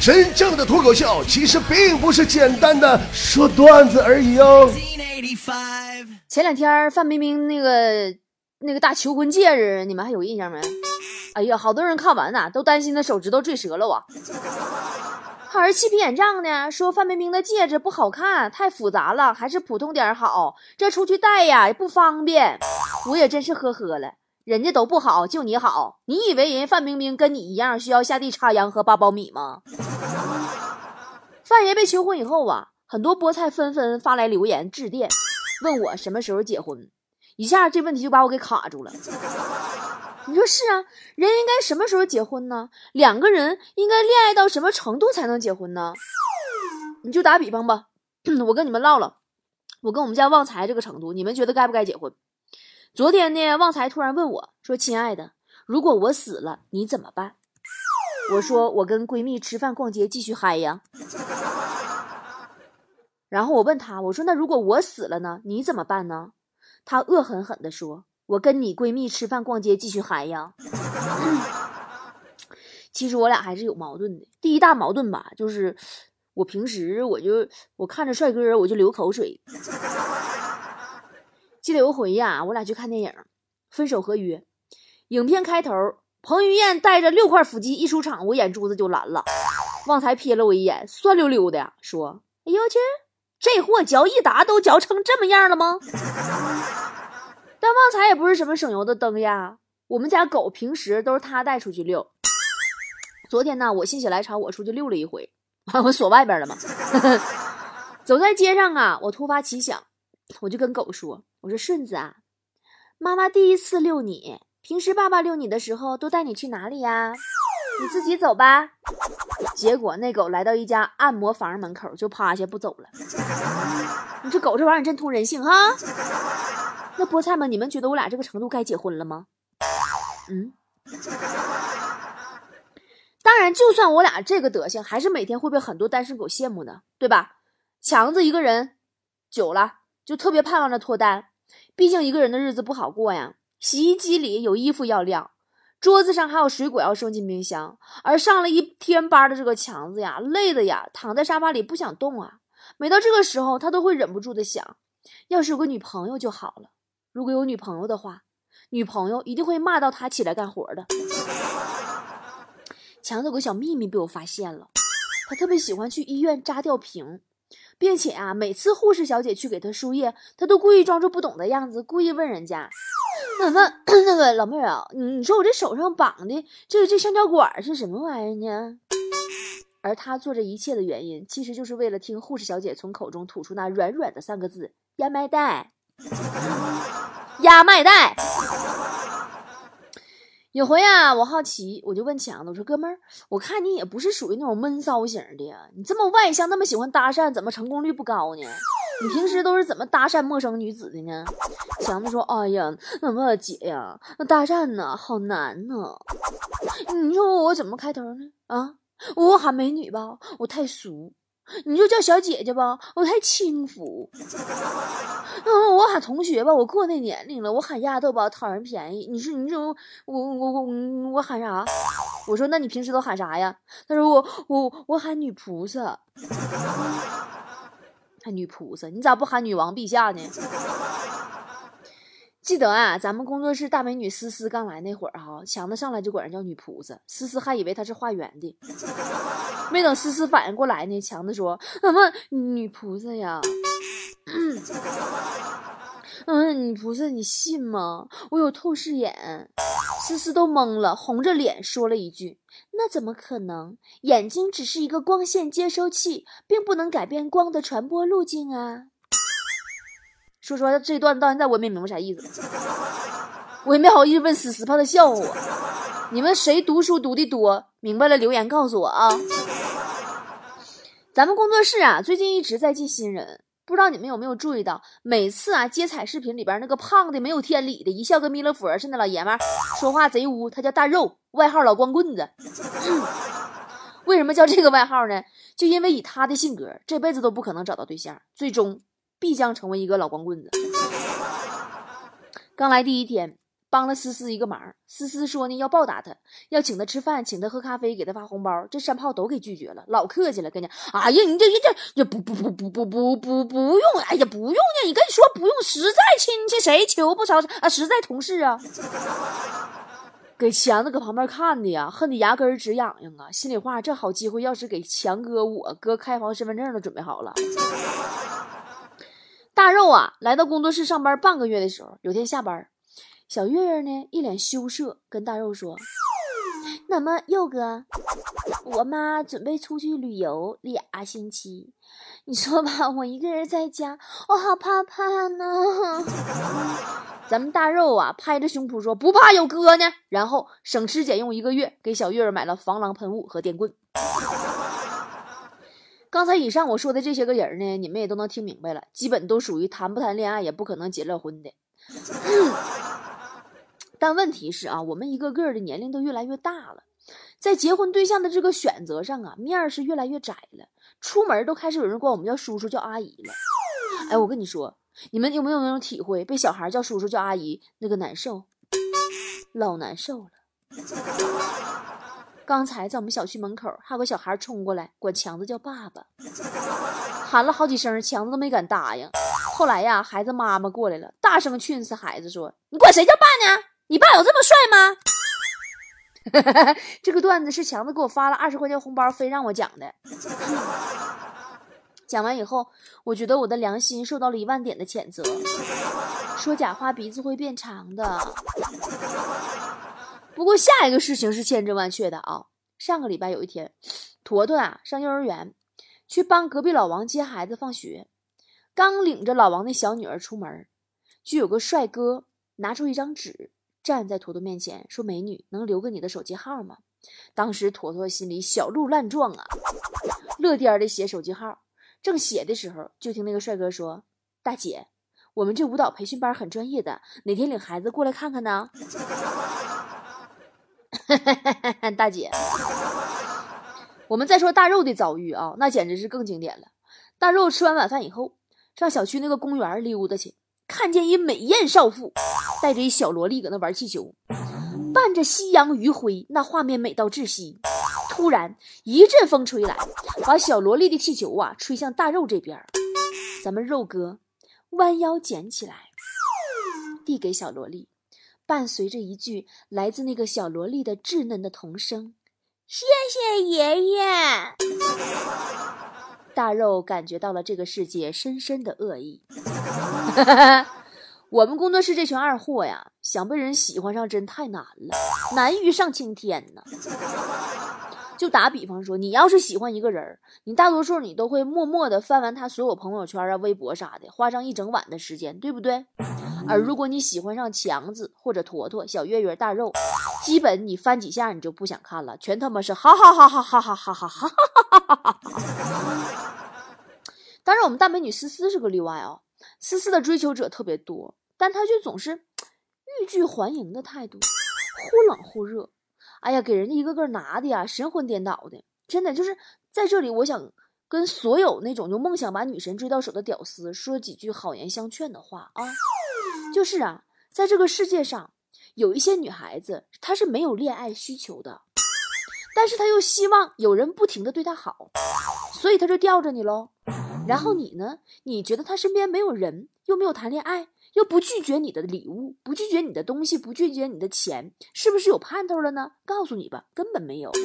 真正的脱口秀其实并不是简单的说段子而已哦。 前两天范冰冰那个大求婚戒指，你们还有印象没？哎呀，好多人看完呐，都担心她手指头坠折了啊。还是气皮眼胀呢，说范冰冰的戒指不好看，太复杂了，还是普通点好，这出去戴呀也不方便。我也真是呵呵了，人家都不好，就你好。你以为人范冰冰跟你一样需要下地插秧和8苞米吗？范爷被求婚以后啊，很多菠菜纷纷发来留言致电，问我什么时候结婚。一下这问题就把我给卡住了。你说是啊，人应该什么时候结婚呢？两个人应该恋爱到什么程度才能结婚呢？你就打比方吧，我跟你们唠了，我跟我们家旺财这个程度，你们觉得该不该结婚？昨天呢，旺财突然问我说：“亲爱的，如果我死了，你怎么办？”我说：“我跟闺蜜吃饭逛街继续嗨呀。”然后我问他，我说：“那如果我死了呢？你怎么办呢？”他恶狠狠地说：“我跟你闺蜜吃饭逛街继续嗨呀。”其实我俩还是有矛盾的。第一大矛盾吧，就是我平时我看着帅哥我就流口水。记得有回呀，我俩去看电影《分手合约》，影片开头彭于晏带着6块腹肌一出场，我眼珠子就蓝了。旺财瞥了我一眼，酸溜溜的呀，说：“哎呦去，这货嚼益达都嚼成这么样了吗？”但旺财也不是什么省油的灯呀，我们家狗平时都是他带出去遛。昨天呢，我心血来潮，我出去遛了一回，我锁外边了嘛。走在街上啊，我突发奇想，我就跟狗说：“我说顺子啊，妈妈第一次遛你，平时爸爸遛你的时候都带你去哪里呀？你自己走吧。”结果那狗来到一家按摩房门口就趴下不走了。你这狗这玩意儿真通人性哈。那菠菜们，你们觉得我俩这个程度该结婚了吗？当然，就算我俩这个德行，还是每天会被很多单身狗羡慕的，对吧？强子一个人久了就特别盼望着脱单，毕竟一个人的日子不好过呀。洗衣机里有衣服要晾，桌子上还有水果要收进冰箱，而上了一天班的这个强子呀，累的呀，躺在沙发里不想动啊。每到这个时候，他都会忍不住的想，要是有个女朋友就好了。如果有女朋友的话，女朋友一定会骂到他起来干活的。强子有个小秘密被我发现了，他特别喜欢去医院扎吊瓶，并且啊，每次护士小姐去给他输液，他都故意装作不懂的样子，故意问人家：“那个老妹儿啊，你说我这手上绑的这橡胶管是什么玩意儿呢？”而他做这一切的原因，其实就是为了听护士小姐从口中吐出那软软的3个字：压麦带。压麦带。有回啊，我好奇，我就问强子，我说：“哥们儿，我看你也不是属于那种闷骚型的呀，你这么外向，那么喜欢搭讪，怎么成功率不高呢？你平时都是怎么搭讪陌生女子的呢？”强子说：“哎呀，那么姐呀，那搭讪呢，好难呢。你说我怎么开头呢？啊，我喊美女吧，我太俗；你就叫小姐姐吧，我太轻浮。我喊同学吧，我过那年龄了；我喊丫头吧，讨人便宜。你说我喊啥？”我说：“那你平时都喊啥呀？”他说：“我喊女菩萨。”喊女菩萨，你咋不喊女王陛下呢？记得啊，咱们工作室大美女思思刚来那会儿哈，强子上来就管人叫女菩萨，思思还以为她是化缘的。没等思思反应过来呢，强子说：“什么女菩萨呀？女菩萨你信吗？我有透视眼。”思思都懵了，红着脸说了一句：“那怎么可能？眼睛只是一个光线接收器，并不能改变光的传播路径啊。”说实话，这段到现在我也没明白啥意思，我也没好意思问思思，怕他笑话我。你们谁读书读的多，明白了留言告诉我啊。咱们工作室啊，最近一直在进新人，不知道你们有没有注意到，每次啊接彩视频里边那个胖的没有天理的，一笑跟弥勒佛似的老爷们儿，说话贼污，他叫大肉，外号老光棍子。为什么叫这个外号呢？就因为以他的性格，这辈子都不可能找到对象，最终必将成为一个老光棍子。刚来第一天帮了思思一个忙。思思说呢要报答他，要请他吃饭，请他喝咖啡，给他发红包。这山炮都给拒绝了，老客气了，跟你哎呀，你这不用，哎呀不用呀，你跟你说不用，实在亲戚谁求不着啊，实在同事啊。给强子搁旁边看的呀，恨得牙根直痒痒啊！心里话，这好机会要是给强哥哥开房身份证都准备好了。大肉啊，来到工作室上班半个月的时候，有天下班，小月月呢一脸羞涩，跟大肉说：“那么肉哥，我妈准备出去旅游2星期，你说吧，我一个人在家，我好怕呢。”咱们大肉啊，拍着胸脯说不怕有哥呢，然后省吃俭用1个月，给小月儿买了防狼喷雾和电棍。刚才以上我说的这些个人呢，你们也都能听明白了，基本都属于谈不谈恋爱也不可能结了婚的。但问题是啊，我们一个个的年龄都越来越大了，在结婚对象的这个选择上啊，面是越来越窄了，出门都开始有人管我们叫叔叔叫阿姨了。哎，我跟你说，你们有没有那种体会，被小孩叫叔叔叫阿姨那个难受，老难受了。刚才在我们小区门口还有个小孩冲过来管强子叫爸爸，喊了好几声，强子都没敢答应。后来呀，孩子妈妈过来了，大声训斥孩子说：“你管谁叫爸呢？你爸有这么帅吗？”这个段子是强子给我发了20块钱红包，非让我讲的。讲完以后，我觉得我的良心受到了1万点的谴责，说假话鼻子会变长的。不过下一个事情是千真万确的啊！上个礼拜有一天，坨坨啊上幼儿园去帮隔壁老王接孩子放学，刚领着老王的小女儿出门，就有个帅哥拿出一张纸站在坨坨面前说：“美女，能留个你的手机号吗？”当时坨坨心里小鹿乱撞啊，乐颠的写手机号。正写的时候，就听那个帅哥说：“大姐，我们这舞蹈培训班很专业的，哪天领孩子过来看看呢？”大姐，我们再说大肉的遭遇啊，那简直是更经典了。大肉吃完晚饭以后，上小区那个公园溜达去，看见一美艳少妇带着一小萝莉搁那玩气球，伴着夕阳余晖，那画面美到窒息。突然一阵风吹来，把小萝莉的气球啊吹向大肉这边。咱们肉哥弯腰捡起来，递给小萝莉，伴随着一句来自那个小萝莉的稚嫩的童声：“谢谢爷爷。”大肉感觉到了这个世界深深的恶意。我们工作室这群二货呀，想被人喜欢上真太难了，难于上青天呢。就打比方说，你要是喜欢一个人，你大多数你都会默默的翻完他所有朋友圈啊、微博啥的，花上1整晚的时间，对不对？而如果你喜欢上强子或者坨坨、小月月、大肉，基本你翻几下你就不想看了，全他妈是哈哈哈哈哈哈哈哈哈哈哈。当然我们大美女思思是个例外啊，思思的追求者特别多，但她却总是欲拒还迎的态度，忽冷忽热。哎呀，给人家一个个拿的呀，神魂颠倒的，真的就是在这里，我想跟所有那种就梦想把女神追到手的屌丝说几句好言相劝的话啊，就是啊，在这个世界上有一些女孩子，她是没有恋爱需求的，但是她又希望有人不停的对她好，所以她就吊着你咯。然后你呢，你觉得她身边没有人，又没有谈恋爱，又不拒绝你的礼物，不拒绝你的东西，不拒绝你的钱，是不是有盼头了呢？告诉你吧，根本没有。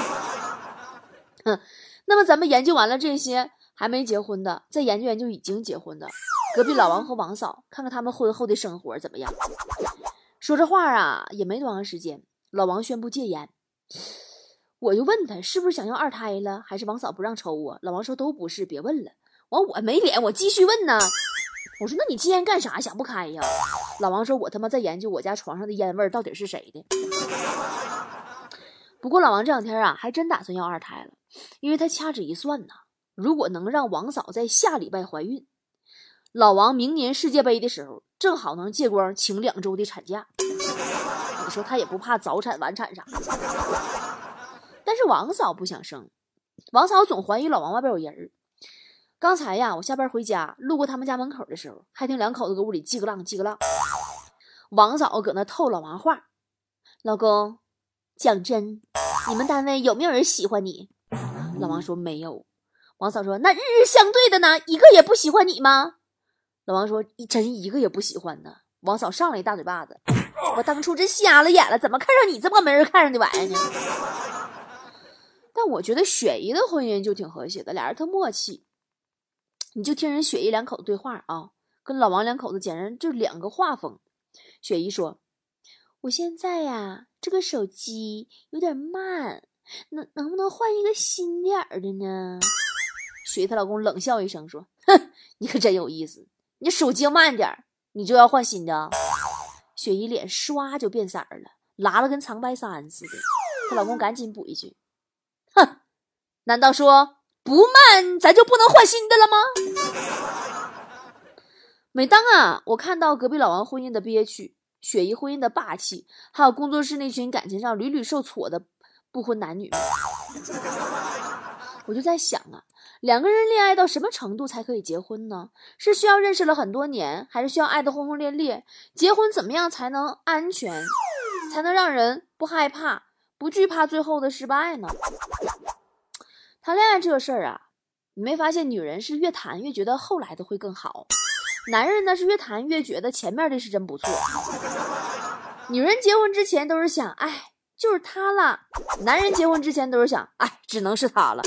那么咱们研究完了这些还没结婚的，再研究研究已经结婚的，隔壁老王和王嫂，看看他们婚后的生活怎么样。说这话啊，也没多长时间，老王宣布戒烟。我就问他是不是想要2胎了，还是王嫂不让抽啊？老王说都不是，别问了。完我没脸，我继续问呢。我说那你戒烟干啥？想不开呀？老王说我他妈在研究我家床上的烟味到底是谁的。不过老王这2天啊还真打算要2胎了，因为他掐指一算呢，如果能让王嫂在下礼拜怀孕，老王明年世界杯的时候正好能借光请2周的产假。你说他也不怕早产晚产啥的。但是王嫂不想生，王嫂总怀疑老王外边有人。刚才呀，我下班回家路过他们家门口的时候，还听2口子搁屋里叽个浪叽个浪。 王嫂搁那透老王话，老公，讲真，你们单位有没有人喜欢你？老王说没有。王嫂说那日日相对的呢，一个也不喜欢你吗？老王说真一个也不喜欢呢。王嫂上了一大嘴巴子，我当初真瞎了眼了，怎么看上你这么没人看上的玩意儿呢？但我觉得雪姨的婚姻就挺和谐的，俩人特默契。你就听人雪姨两口子对话啊，跟老王两口子简直就两个画风。雪姨说，我现在呀这个手机有点慢，能不能换一个新点儿的呢？雪姨她老公冷笑一声说，哼，你可真有意思，你手机要慢点你就要换新的。雪姨脸唰就变色了，拉了跟长白山似的。她老公赶紧补一句，哼，难道说不慢咱就不能换新的了吗？每当我看到隔壁老王婚姻的憋屈，雪姨婚姻的霸气，还有工作室那群感情上屡屡受挫的不婚男女，我就在想两个人恋爱到什么程度才可以结婚呢？是需要认识了很多年，还是需要爱得轰轰烈烈？结婚怎么样才能安全，才能让人不害怕不惧怕最后的失败呢？谈恋爱这个事儿你没发现女人是越谈越觉得后来的会更好，男人呢是越谈越觉得前面的是真不错。女人结婚之前都是想哎就是他了，男人结婚之前都是想哎只能是他了。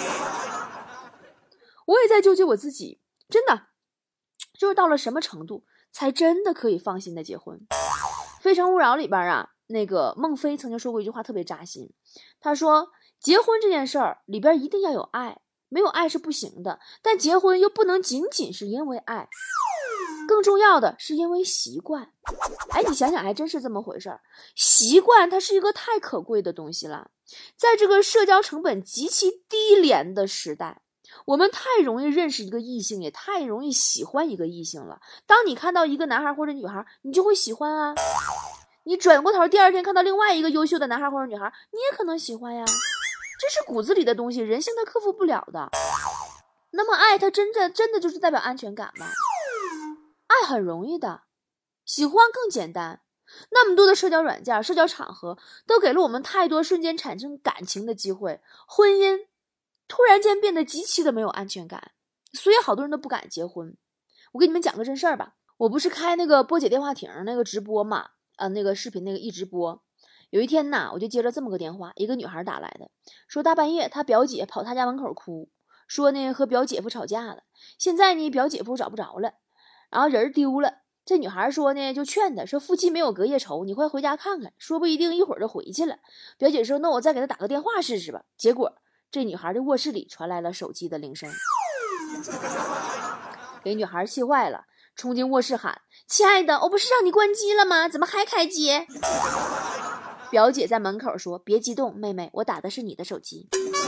我也在纠结我自己，真的就是到了什么程度才真的可以放心的结婚。非诚勿扰里边那个孟非曾经说过一句话特别扎心，他说结婚这件事儿里边一定要有爱，没有爱是不行的，但结婚又不能仅仅是因为爱，更重要的是因为习惯。哎，你想想还真是这么回事儿。习惯它是一个太可贵的东西了，在这个社交成本极其低廉的时代，我们太容易认识一个异性，也太容易喜欢一个异性了。当你看到一个男孩或者女孩，你就会喜欢你转过头第二天看到另外一个优秀的男孩或者女孩，你也可能喜欢呀。这是骨子里的东西，人性它克服不了的。那么爱它真的就是代表安全感吗？爱很容易的，喜欢更简单。那么多的社交软件、社交场合都给了我们太多瞬间产生感情的机会，婚姻突然间变得极其的没有安全感，所以好多人都不敢结婚。我给你们讲个真事儿吧，我不是开那个波姐电话亭那个直播嘛，那个视频那个一直播。有一天我就接了这么个电话，一个女孩打来的，说大半夜她表姐跑她家门口哭，说呢和表姐夫吵架了，现在呢表姐夫找不着了，然后人丢了。这女孩说呢，就劝她说夫妻没有隔夜仇，你快回家看看，说不一定一会儿就回去了。表姐说那我再给她打个电话试试吧。结果这女孩的卧室里传来了手机的铃声，给女孩气坏了，冲进卧室喊，亲爱的，我不是让你关机了吗？怎么还开机？表姐在门口说，别激动，妹妹，我打的是你的手机。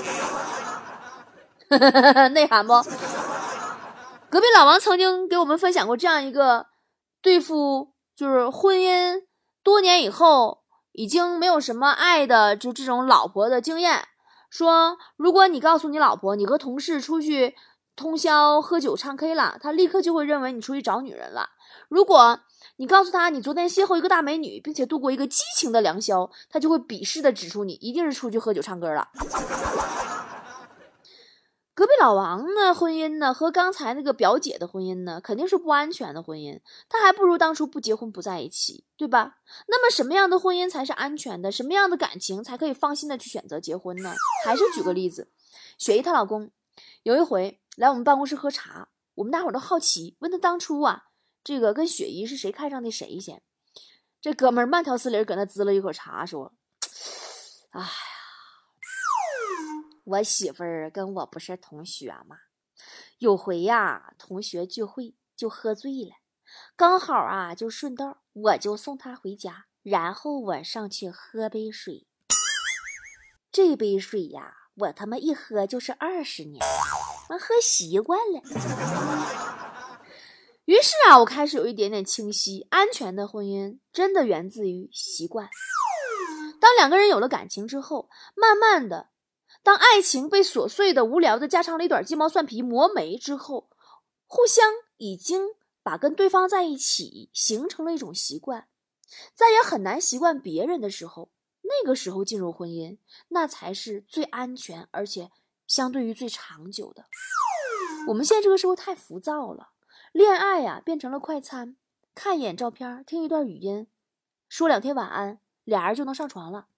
内涵不？隔壁老王曾经给我们分享过这样一个对付就是婚姻多年以后已经没有什么爱的就这种老婆的经验，说如果你告诉你老婆你和同事出去通宵喝酒唱 K 了，她立刻就会认为你出去找女人了。如果你告诉她你昨天邂逅一个大美女并且度过一个激情的良宵，她就会鄙视的指出你一定是出去喝酒唱歌了。隔壁老王呢婚姻呢和刚才那个表姐的婚姻呢肯定是不安全的婚姻，他还不如当初不结婚不在一起，对吧？那么什么样的婚姻才是安全的？什么样的感情才可以放心的去选择结婚呢？还是举个例子，雪姨她老公有一回来我们办公室喝茶，我们大伙都好奇，问他当初这个跟雪姨是谁看上的谁先。这哥们儿慢条斯理搁那滋了一口茶说，哎呀，我媳妇儿跟我不是同学嘛，有回同学聚会就喝醉了，刚好就顺道我就送她回家，然后我上去喝杯水，这杯水我他妈一喝就是20年，我喝习惯了。于是我开始有一点点清晰，安全的婚姻真的源自于习惯。当两个人有了感情之后，慢慢的当爱情被琐碎的无聊的家长里短鸡毛蒜皮磨没之后，互相已经把跟对方在一起形成了一种习惯。 再也很难习惯别人的时候，那个时候进入婚姻，那才是最安全，而且相对于最长久的。我们现在这个社会太浮躁了，恋爱呀变成了快餐，看一眼照片，听一段语音，说2天晚安，俩人就能上床了。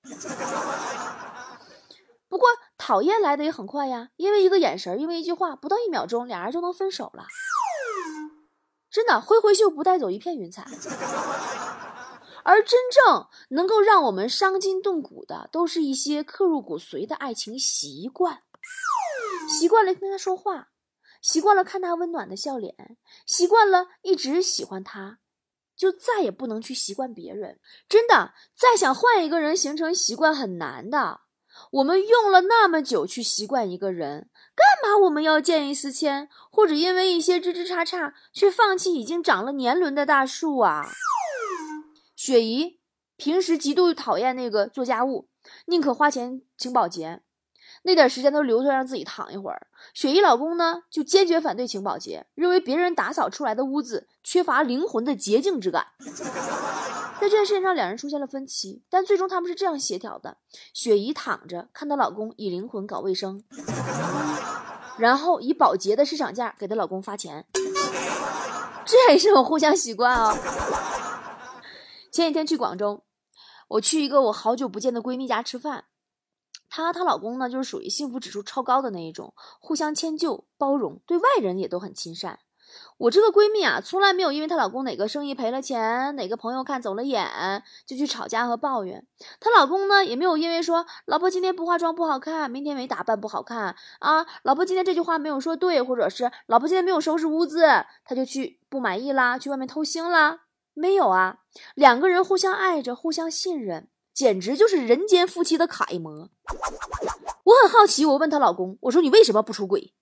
不过讨厌来的也很快呀，因为一个眼神，因为一句话，不到1秒钟，俩人就能分手了。真的，挥挥袖不带走一片云彩。而真正能够让我们伤筋动骨的，都是一些刻入骨髓的爱情习惯。习惯了听他说话，习惯了看他温暖的笑脸，习惯了一直喜欢他，就再也不能去习惯别人。真的，再想换一个人形成习惯很难的。我们用了那么久去习惯一个人，干嘛我们要见异思迁，或者因为一些枝枝杈杈去放弃已经长了年轮的大树啊？雪姨平时极度讨厌那个做家务，宁可花钱请保洁，那点时间都留着让自己躺一会儿。雪姨老公呢，就坚决反对请保洁，认为别人打扫出来的屋子缺乏灵魂的洁净之感。在这件事情上，两人出现了分歧，但最终他们是这样协调的：雪姨躺着看她老公以灵魂搞卫生，然后以保洁的市场价给她老公发钱。这也是种互相习惯啊。前几天去广州，我去一个我好久不见的闺蜜家吃饭，她和她老公呢，就是属于幸福指数超高的那一种，互相迁就包容，对外人也都很亲善。我这个闺蜜啊，从来没有因为她老公哪个生意赔了钱，哪个朋友看走了眼，就去吵架和抱怨。她老公呢，也没有因为说老婆今天不化妆不好看，明天没打扮不好看啊，老婆今天这句话没有说对，或者是老婆今天没有收拾屋子，她就去不满意啦，去外面偷腥啦。没有啊，两个人互相爱着，互相信任，简直就是人间夫妻的楷模。我很好奇，我问她老公，我说你为什么不出轨？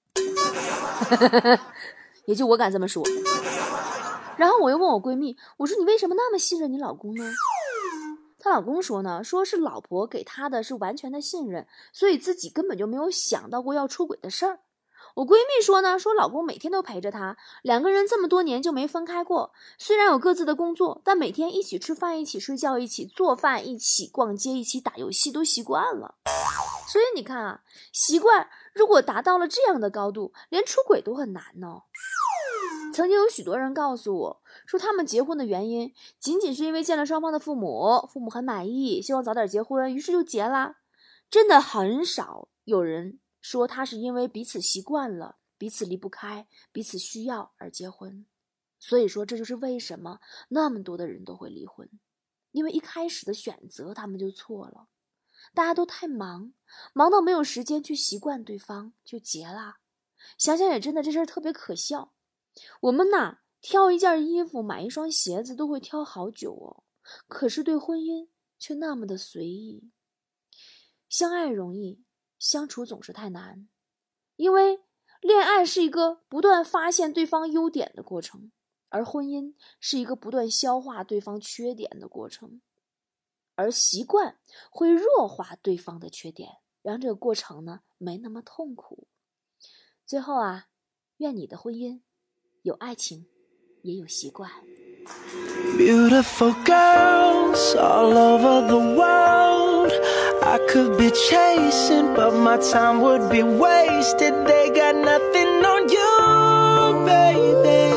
也就我敢这么说。然后我又问我闺蜜，我说你为什么那么信任你老公呢？她老公说呢，说是老婆给他的是完全的信任，所以自己根本就没有想到过要出轨的事儿。我闺蜜说呢，说老公每天都陪着她，两个人这么多年就没分开过，虽然有各自的工作，但每天一起吃饭，一起睡觉，一起做饭，一起逛街，一起打游戏，都习惯了。所以你看啊，习惯如果达到了这样的高度，连出轨都很难呢。曾经有许多人告诉我说，他们结婚的原因仅仅是因为见了双方的父母，父母很满意，希望早点结婚，于是就结了。真的很少有人说他是因为彼此习惯了，彼此离不开，彼此需要而结婚。所以说这就是为什么那么多的人都会离婚，因为一开始的选择他们就错了，大家都太忙到没有时间去习惯对方就结了。想想也真的，这事儿特别可笑。我们呐，挑一件衣服，买一双鞋子都会挑好久哦，可是对婚姻却那么的随意。相爱容易，相处总是太难，因为恋爱是一个不断发现对方优点的过程，而婚姻是一个不断消化对方缺点的过程，而习惯会弱化对方的缺点，让这个过程呢没那么痛苦。最后啊，愿你的婚姻有爱情，也有习惯。 Beautiful girls all over the world, I could be chasing, but my time would be wasted. They got nothing on you, baby.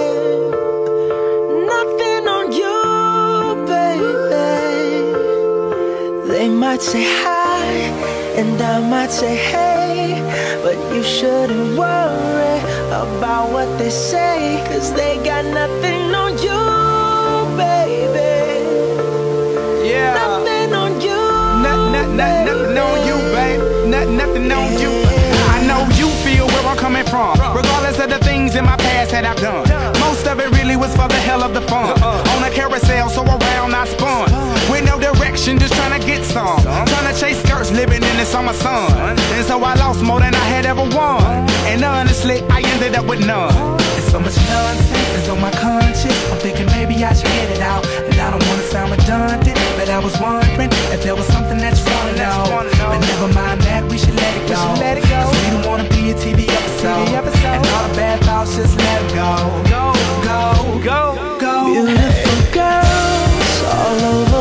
Nothing on you, baby. They might say hi, and I might say hey, but you shouldn't worry about what they say, 'cause they got nothing on you, baby. Yeah. Nothing on you. Nothing on you, babe. Nothing on you. I know you feel where I'm coming from, regardless of the things in my past that I've done. Most of it really was for the hell of the fun. On a carousel, so around I spun. With no direction, just trying to get some. Trying to chase skirts, living in the summer sun. And so I lost more than I had ever won. And honestly, I ended up with none. There's so much nonsense is on my conscience. I'm thinking maybe I should get it out. And I don't want to sound redundant, but I was wondering if there was something that you want to know. But never mind that, we should let it go. 'Cause we don't want to be a TV episode. And all the bad thoughts, just let it go. Go, go, go, go. Beautiful girls all over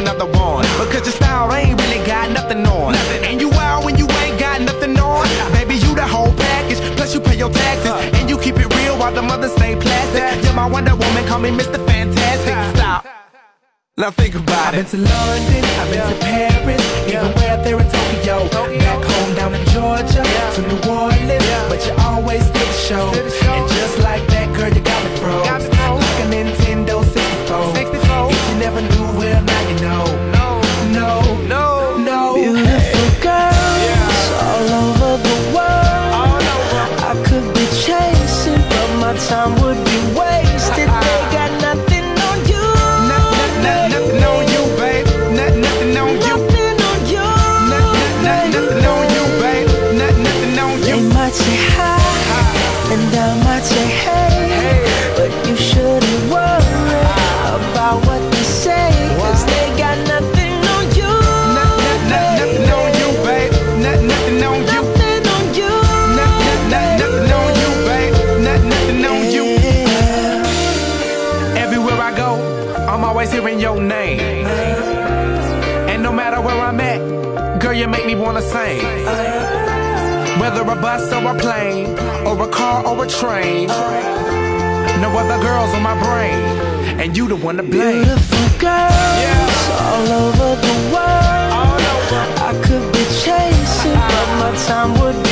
another one. Because your style ain't really got nothing on. And you wild when you ain't got nothing on. Baby, you the whole package, plus you pay your taxes. And you keep it real while the mothers stay plastic. You're my Wonder Woman, call me Mr. Fantastic. Stop. Now think about it. I've been to London, I've been to Paris, even where there in Tokyo. Back home down in Georgia, to New Orleans, but you always did the show. And just like that, girl, you got me froze. Like a Nintendo 64. If you never knew, well, now you know. No. Beautiful girls all over the world. I could be chasing, but my time would be wasted. They got nothing on you. Nothing on you, babe. Nothing on you. Nothing on you. Nothing on you, babe. Nothing on you. They might say hi, and I might say hey, but you shouldn't worry about what they say, 'cause they got nothing on you. Nothing on you, babe. Nothing on you. Nothing on you. Nothing on you, babe. Nothing on you. Everywhere I go, I'm always hearing your name. And no matter where I'm at, girl, you make me wanna sing. Whether a bus or a plane, or a car or a train, no other girls on my brain, and you the one to blame. Beautiful girls all over the world. I could be chasing, but my time would be